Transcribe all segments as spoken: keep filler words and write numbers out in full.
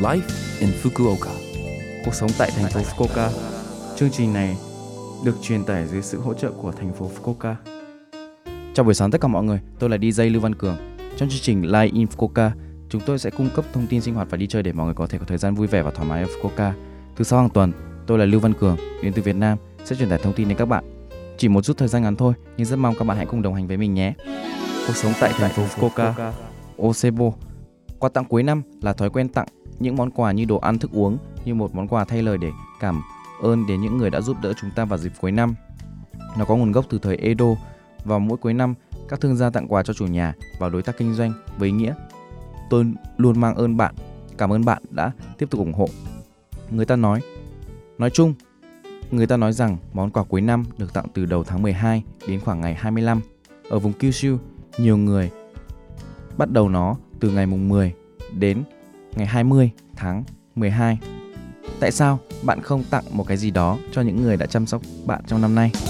Life in Fukuoka. Cuộc sống tại thành phố Fukuoka. Chương trình này được truyền tải dưới sự hỗ trợ của thành phố Fukuoka. Chào buổi sáng tất cả mọi người, tôi là đi jay Lưu Văn Cường. Trong chương trình Live in Fukuoka, chúng tôi sẽ cung cấp thông tin sinh hoạt và đi chơi để mọi người có thể có thời gian vui vẻ và thoải mái ở Fukuoka. Thứ sáu hàng tuần, tôi là Lưu Văn Cường, đến từ Việt Nam, sẽ truyền tải thông tin đến các bạn. Chỉ một chút thời gian ngắn thôi, nhưng rất mong các bạn hãy cùng đồng hành với mình nhé. Cuộc sống tại thành phố Fukuoka. Osebo. Quà tặng cuối năm là thói quen tặng những món quà như đồ ăn, thức uống như một món quà thay lời để cảm ơn đến những người đã giúp đỡ chúng ta vào dịp cuối năm. Nó có nguồn gốc từ thời Edo. Vào mỗi cuối năm, các thương gia tặng quà cho chủ nhà và đối tác kinh doanh với ý nghĩa: tôi luôn mang ơn bạn, cảm ơn bạn đã tiếp tục ủng hộ. Người ta nói, nói chung, người ta nói rằng món quà cuối năm được tặng từ đầu tháng mười hai đến khoảng ngày hai mươi lăm. Ở vùng Kyushu, nhiều người bắt đầu nó từ ngày mùng mười đến ngày hai mươi tháng mười hai. Tại sao bạn không tặng một cái gì đó cho những người đã chăm sóc bạn trong năm nay?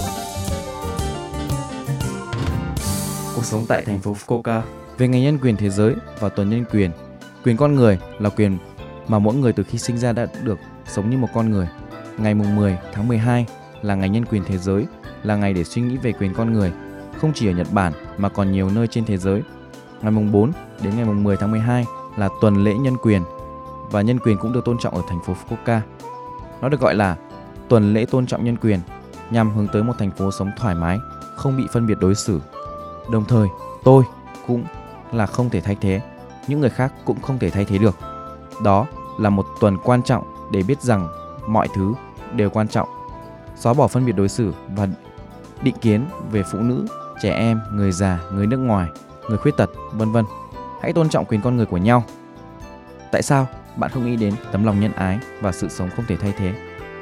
Cuộc sống tại thành phố Fukuoka. Về ngày nhân quyền thế giới và tuần nhân quyền. Quyền con người là quyền mà mỗi người từ khi sinh ra đã được sống như một con người. Ngày mùng mười tháng mười hai là ngày nhân quyền thế giới, là ngày để suy nghĩ về quyền con người, không chỉ ở Nhật Bản mà còn nhiều nơi trên thế giới. Ngày mùng bốn đến ngày mùng mười tháng mười hai là tuần lễ nhân quyền, và nhân quyền cũng được tôn trọng ở thành phố Fukuoka. Nó được gọi là tuần lễ tôn trọng nhân quyền, nhằm hướng tới một thành phố sống thoải mái, không bị phân biệt đối xử. Đồng thời, tôi cũng là không thể thay thế, những người khác cũng không thể thay thế được. Đó là một tuần quan trọng để biết rằng mọi thứ đều quan trọng, xóa bỏ phân biệt đối xử và định kiến về phụ nữ, trẻ em, người già, người nước ngoài, người khuyết tật, vân vân. Hãy tôn trọng quyền con người của nhau. Tại sao bạn không nghĩ đến tấm lòng nhân ái và sự sống không thể thay thế?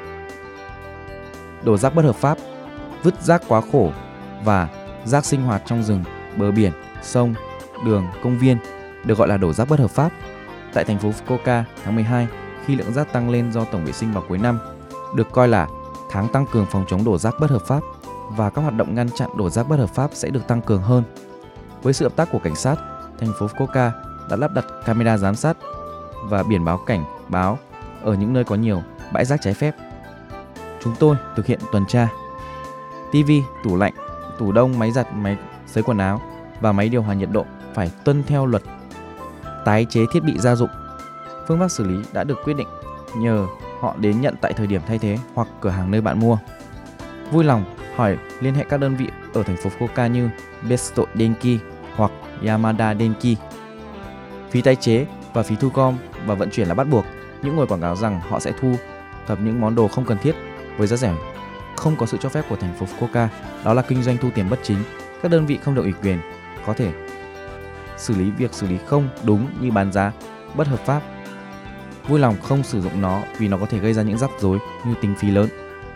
Đổ rác bất hợp pháp, vứt rác quá khổ và rác sinh hoạt trong rừng, bờ biển, sông, đường, công viên được gọi là đổ rác bất hợp pháp. Tại thành phố Fukuoka, tháng mười hai, khi lượng rác tăng lên do tổng vệ sinh vào cuối năm, được coi là tháng tăng cường phòng chống đổ rác bất hợp pháp, và các hoạt động ngăn chặn đổ rác bất hợp pháp sẽ được tăng cường hơn. Với sự hợp tác của cảnh sát, thành phố Fukuoka đã lắp đặt camera giám sát và biển báo cảnh báo ở những nơi có nhiều bãi rác trái phép. Chúng tôi thực hiện tuần tra. ti vi, tủ lạnh, tủ đông, máy giặt, máy sấy quần áo và máy điều hòa nhiệt độ phải tuân theo luật tái chế thiết bị gia dụng. Phương pháp xử lý đã được quyết định nhờ họ đến nhận tại thời điểm thay thế hoặc cửa hàng nơi bạn mua. Vui lòng hỏi liên hệ các đơn vị ở thành phố Fukuoka như Besto Denki hoặc Yamada Denki. Phí tái chế và phí thu gom và vận chuyển là bắt buộc. Những người quảng cáo rằng họ sẽ thu thập những món đồ không cần thiết với giá rẻ không có sự cho phép của thành phố Fukuoka. Đó là kinh doanh thu tiền bất chính. Các đơn vị không được ủy quyền có thể xử lý việc xử lý không đúng như bán giá bất hợp pháp. Vui lòng không sử dụng nó vì nó có thể gây ra những rắc rối như tính phí lớn.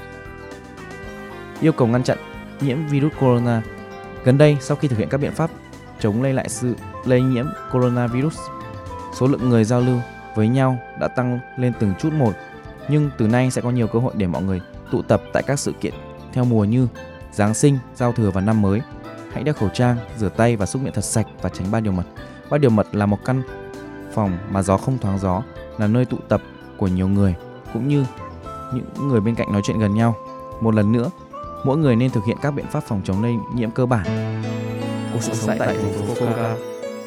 Yêu cầu ngăn chặn nhiễm virus corona. Gần đây, sau khi thực hiện các biện pháp chống lây lại sự lây nhiễm coronavirus, số lượng người giao lưu với nhau đã tăng lên từng chút một. Nhưng từ nay sẽ có nhiều cơ hội để mọi người tụ tập tại các sự kiện theo mùa như Giáng sinh, giao thừa và năm mới. Hãy đeo khẩu trang, rửa tay và xúc miệng thật sạch và tránh ba điều mật. Ba điều mật là một căn phòng mà gió không thoáng gió, là nơi tụ tập của nhiều người, cũng như những người bên cạnh nói chuyện gần nhau. Một lần nữa, mỗi người nên thực hiện các biện pháp phòng chống lây nhiễm cơ bản. Cuộc sống tại thành phố Fukuoka.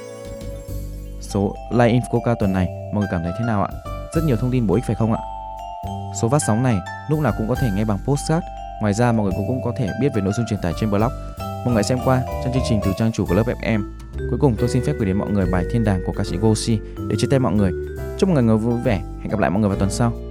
Số Live in Fukuoka tuần này mọi người cảm thấy thế nào ạ? Rất nhiều thông tin bổ ích phải không ạ? Số phát sóng này lúc nào cũng có thể nghe bằng podcast. Ngoài ra mọi người cũng, cũng có thể biết về nội dung truyền tải trên blog. Mọi người xem qua trong chương trình từ trang chủ của lớp ép em. Cuối cùng tôi xin phép gửi đến mọi người bài Thiên đàng của ca sĩ Goshi để chia tay mọi người. Chúc mọi người vui vẻ. Hẹn gặp lại mọi người vào tuần sau.